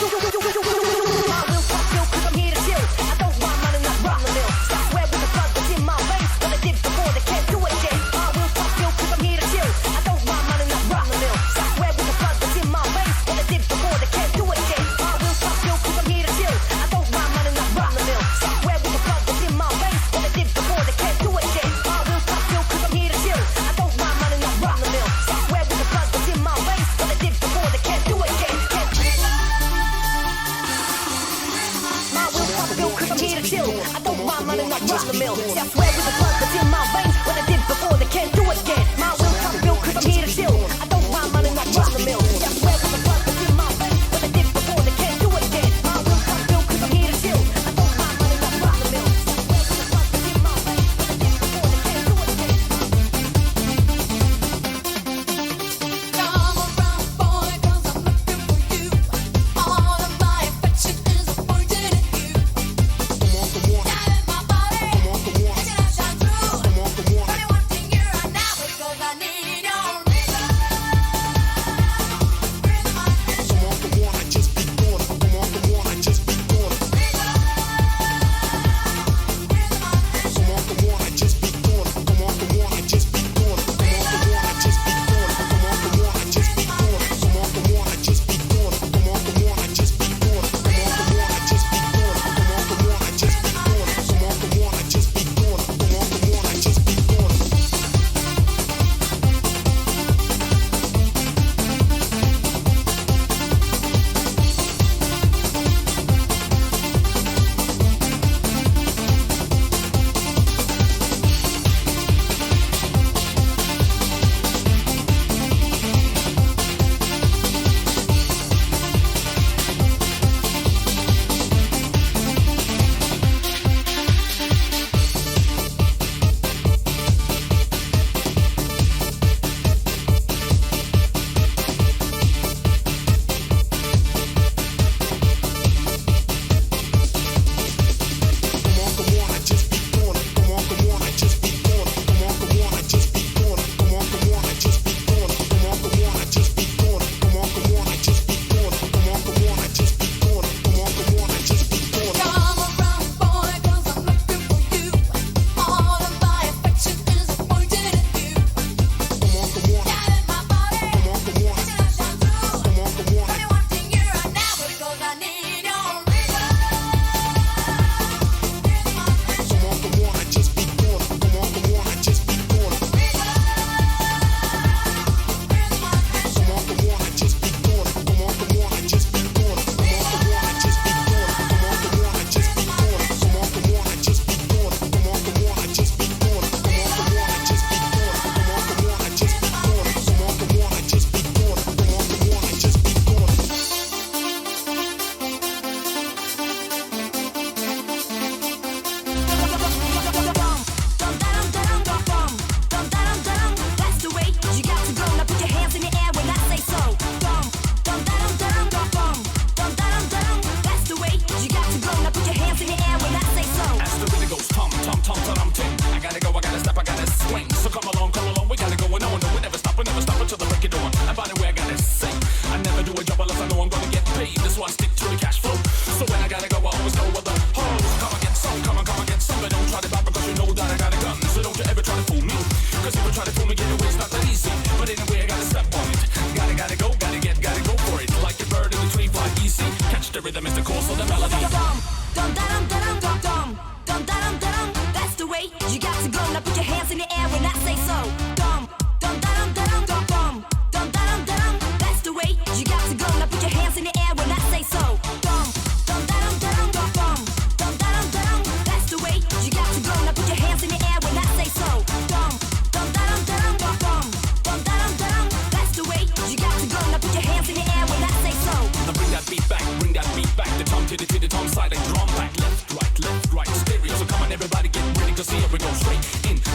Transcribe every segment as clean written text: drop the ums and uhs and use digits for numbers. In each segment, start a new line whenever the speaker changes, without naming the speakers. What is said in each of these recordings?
to the tom side and drum back, left, right, stereo. So come on, everybody, get ready, cause here we go straight in.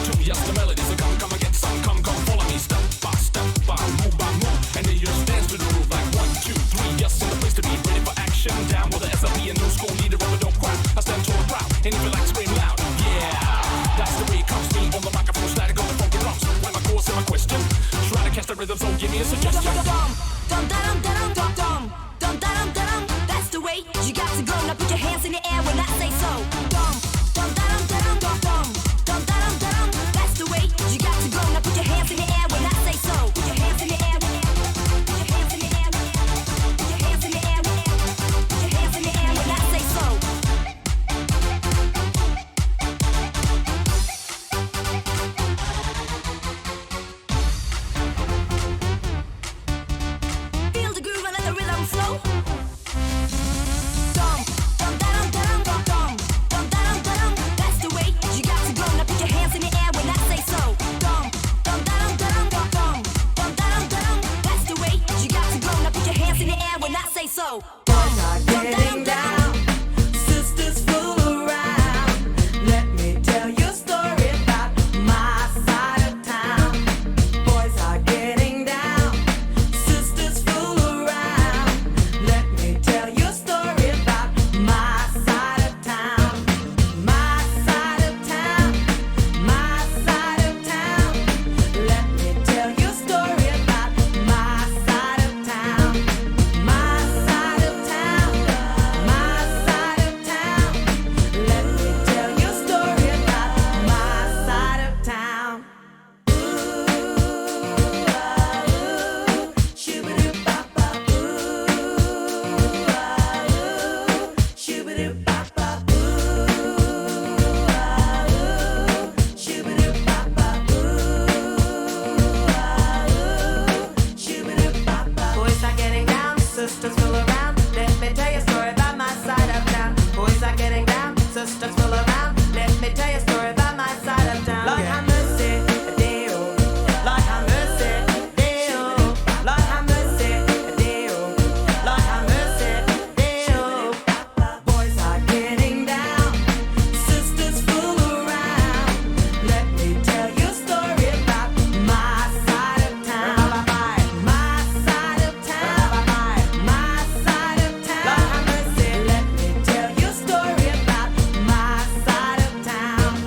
rhythm, so give me a suggestion.
Dum dum dum dum dum dum dum dum. That's the way you got to go. Now put your hands in the air when I say so. Dum dum dum dum dum dum dum dum dum. That's the way you got to go. Now put your hands in the air when I say so. Put your hands in the air. Put your hands in the air. Put your hands in the air. Put your hands in the air when I say so. Feel the groove and let the rhythm flow. Dum dum dum dum dum dum dum dum dum. That's the way you got to go. Now put your hands in the air when I say so. Dum dum dum dum dum dum dum dum dum. That's the way you got to go. Now put your hands in the air when I say so.
Boys are getting down, sisters fool around. Let me tell you a story about my side of town. Boys are getting down, sisters fool around. Let me tell you a story about my side of town. My side of town, my side of town. Let me tell you a story about my side of town. My side of town, my side of town. Let me tell you a story about my side of town. Ooh, shoo-ba-doo-ba-ba. Ooh, shoo-ba-doo-ba-ba. Ooh, shoo-ba-doo-ba-ba. Ooh, shoo-ba-doo-ba-ba. Boys are getting down, sisters fool around. Let me tell you a story about my side of town. Boys are getting down, sisters fool around. Let me tell you a story about my side of town. Lord have mercy, Deo. Lord have mercy, Deo. Lord have mercy, Deo. Lord have mercy, Deo. Boys are getting down, sisters fool around. Let me tell you a story about my side of town. My side of town. My side of town. Lord have mercy. Let me tell you a story about my side of town.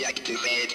activate.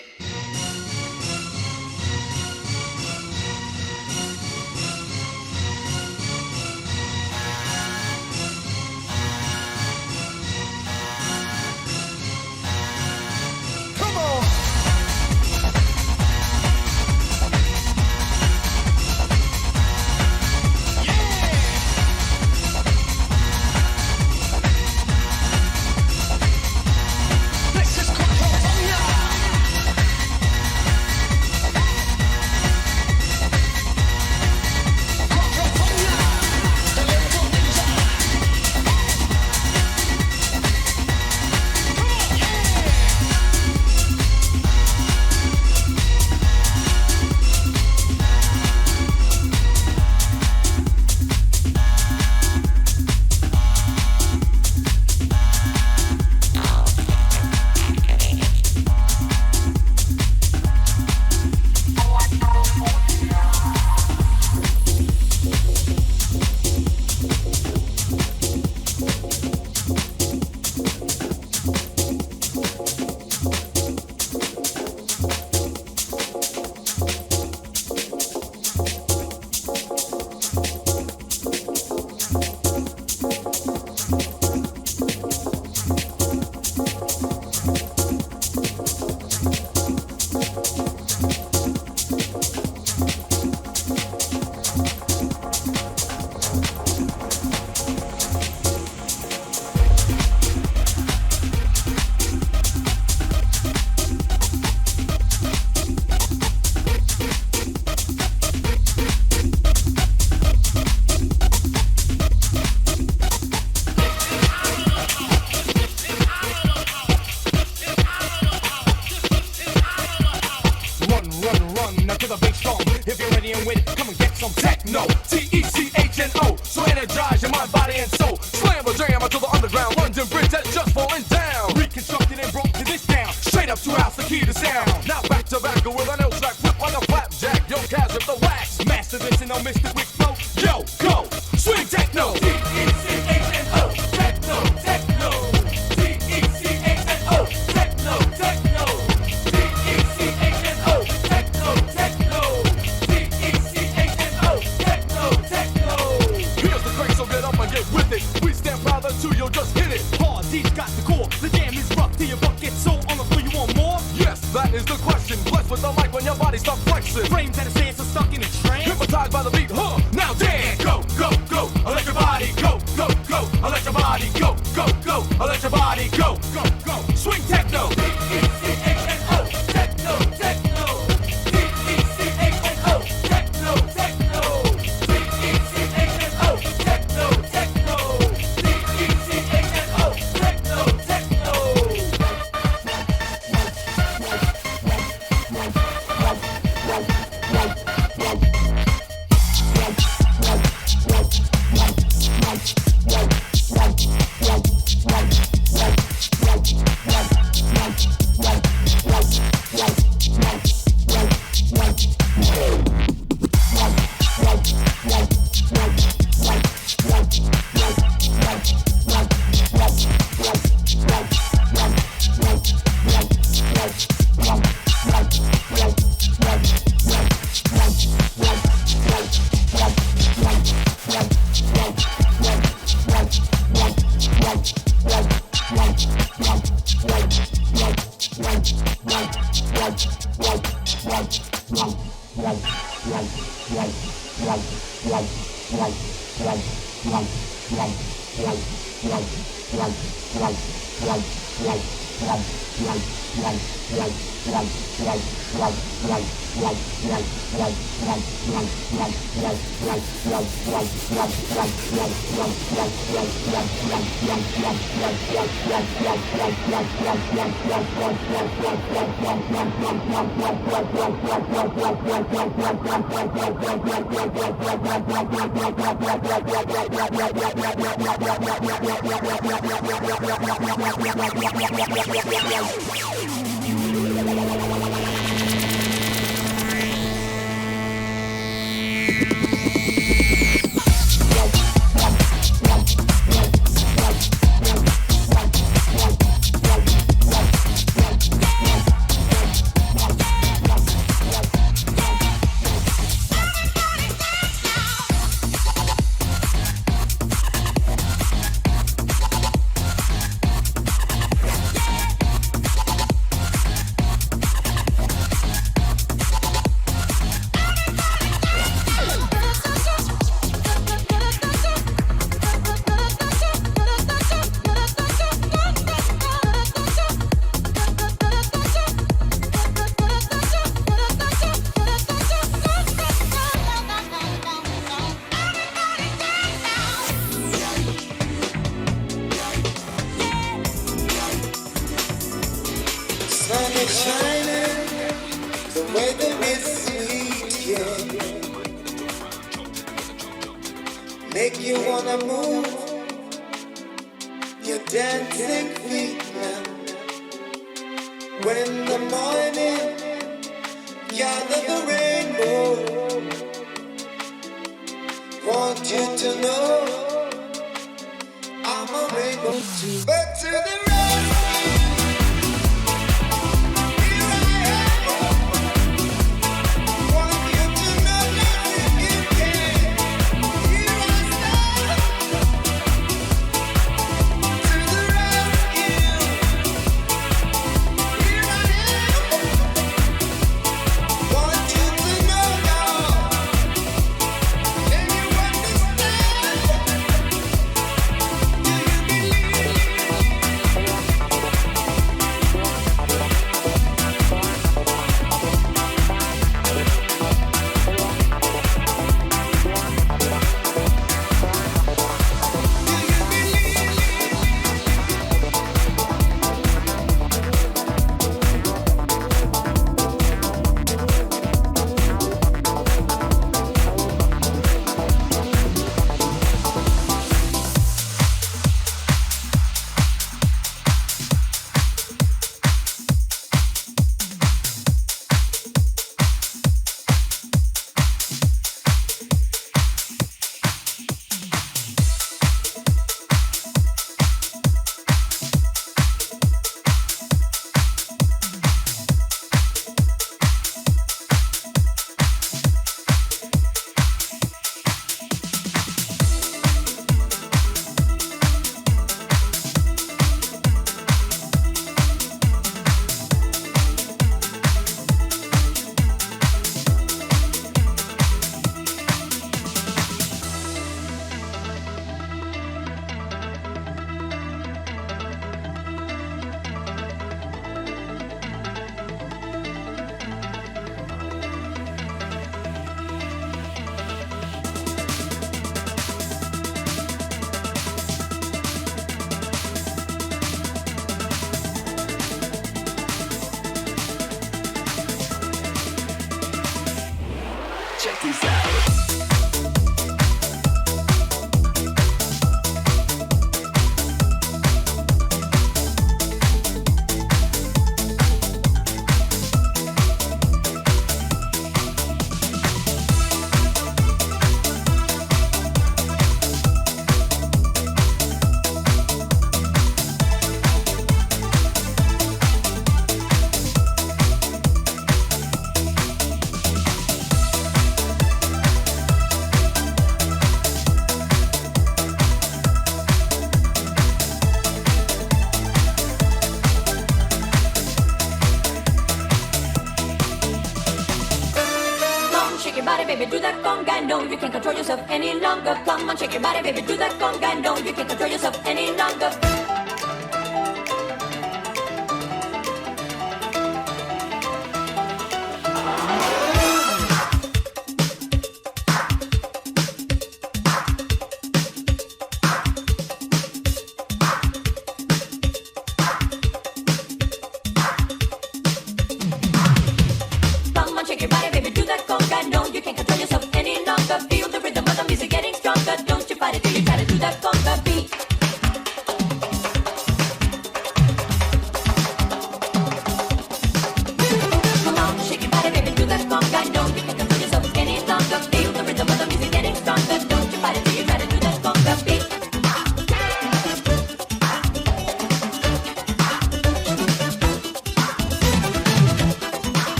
baby, do that conga. No, you can't control yourself any longer. Come on, shake your body, baby, do that conga. No, you can't control yourself any longer.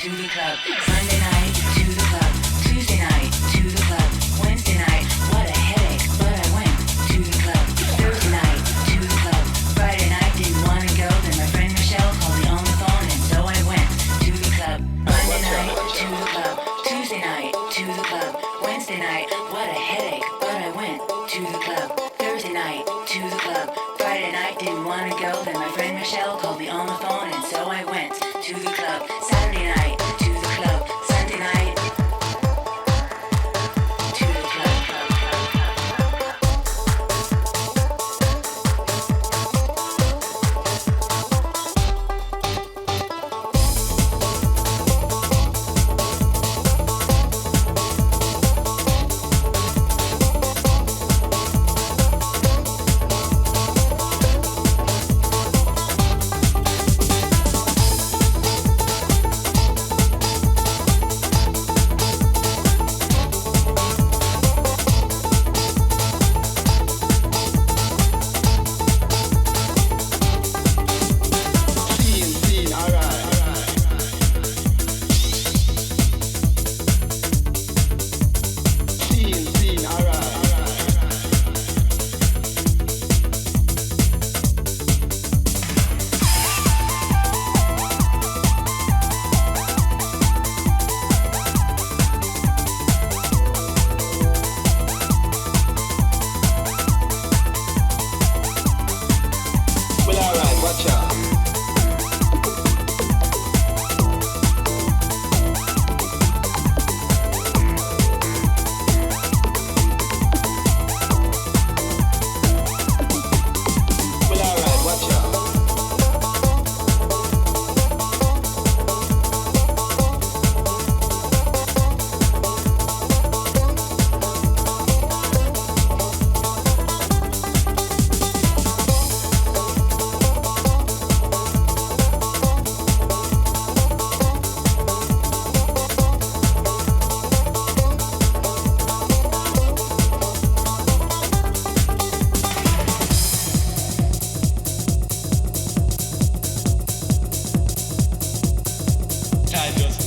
to the club. Monday night to the club. Tuesday night to the club. Wednesday night, what a headache, but I went to the club. Thursday night to the club. Friday night didn't wanna go, then my friend Michelle called me on the phone, and so I went to the club. Monday night to the club. Tuesday night to the club. Wednesday night, what a headache, but I went to the club. Thursday night to the club. Friday night didn't wanna go, then my friend Michelle called me on the phone, and so I went to the club. Saturday night to the club. Sunday night to the club.
Time just